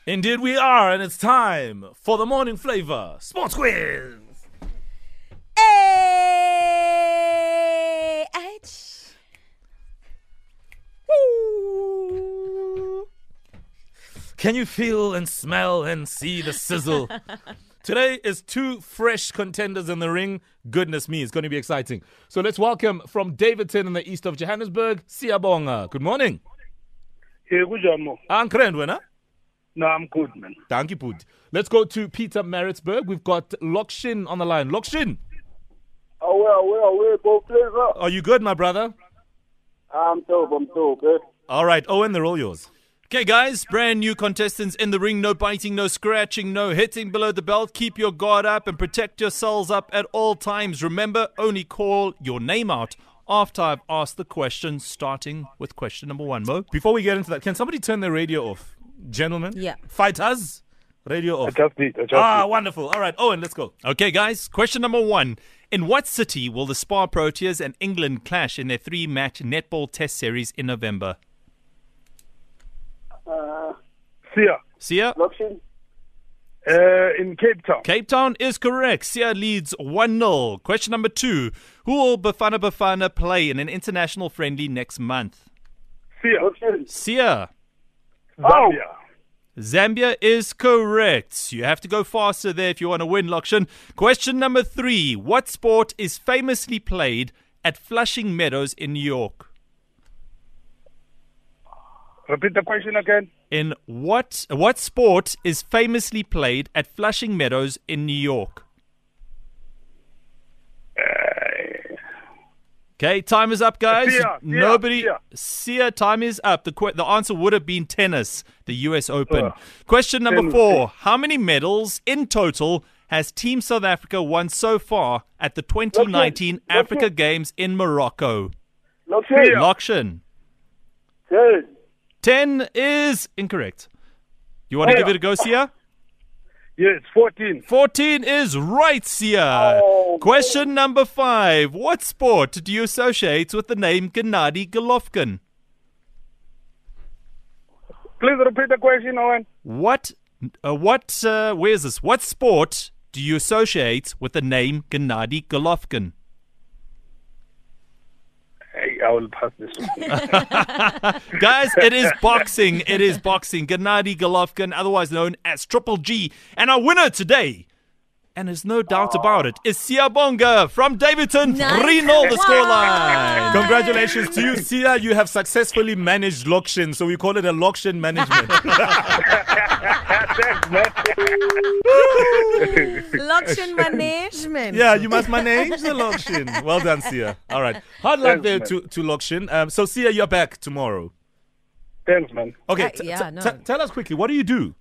Indeed we are, and it's time for the morning flavor sports quiz. A-H. Woo. Can you feel and smell and see the sizzle? Today is two fresh contenders in the ring. Goodness me, it's going to be exciting. So let's welcome from Davidton in the east of Johannesburg, Siyabonga. Good morning. Hey, good job, Mo. Ankrendwena. No, I'm good, man. Thank you, Pud. Let's go to Peter Maritzburg. We've got Lokshin on the line. Lokshin, Away, both players up. are you good, my brother? I'm dope, eh? All right, Owen, they're all yours. Okay, guys, brand new contestants in the ring. No biting, no scratching, no hitting below the belt. Keep your guard up and protect yourselves up at all times. Remember, only call your name out after I've asked the question, starting with question number 1, Mo. Before we get into that, can somebody turn their radio off? Gentlemen? Yeah. Fighters? Radio off. Adjust it. Wonderful. All right, Owen, let's go. Okay, guys, question number 1. In what city will the Spar Proteas and England clash in their 3-match netball test series in November? Sia? Lokshin. In Cape Town. Cape Town is correct. Sia leads 1-0. Question number 2. Who will Bafana play in an international friendly next month? Lokshin. Sia. Zambia. Zambia is correct. You have to go faster there if you want to win, Lokshin. Question number 3. What sport is famously played at Flushing Meadows in New York? Repeat the question again. In what sport is famously played at Flushing Meadows in New York? Okay, time is up, guys. Sia, time is up. The answer would have been tennis, the US Open. Question number 4. How many medals in total has Team South Africa won so far at the 2019 Africa Games in Morocco? Lokshin. 10 is incorrect. You want to give it a go, Sia? Yes, 14. 14 is right, Sia. Question number 5. What sport do you associate with the name Gennady Golovkin? Please repeat the question, Owen. Where is this? What sport do you associate with the name Gennady Golovkin? Hey, I will pass this one. Guys, it is boxing. It is boxing. Gennady Golovkin, otherwise known as Triple G. And our winner today, and there's no doubt about it, is Siyabonga from Davidton. Nice. 3-0 the scoreline. Congratulations to you, Sia. You have successfully managed Lokshin, so we call it a Lokshin management. Thanks, man. Lokshin management. Yeah, you must manage the Lokshin. Well done, Sia. All right. Hard luck there to Lokshin. So, Sia, you're back tomorrow. Thanks, man. Okay, no. tell us quickly, what do you do?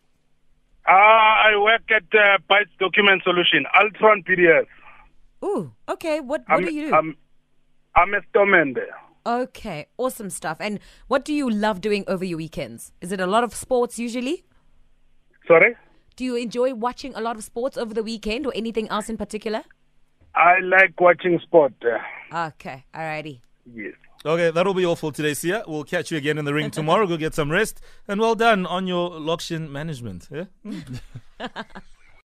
I work at Bytes Document Solution, Altron PDS. Ooh, okay. What do you do? I'm a storeman there. Okay, awesome stuff. And what do you love doing over your weekends? Is it a lot of sports usually? Sorry? Do you enjoy watching a lot of sports over the weekend or anything else in particular? I like watching sport. Okay, alrighty. Yes. Okay, that'll be all for today, Sia. We'll catch you again in the ring tomorrow. Go get some rest. And well done on your Lokshin management. Yeah?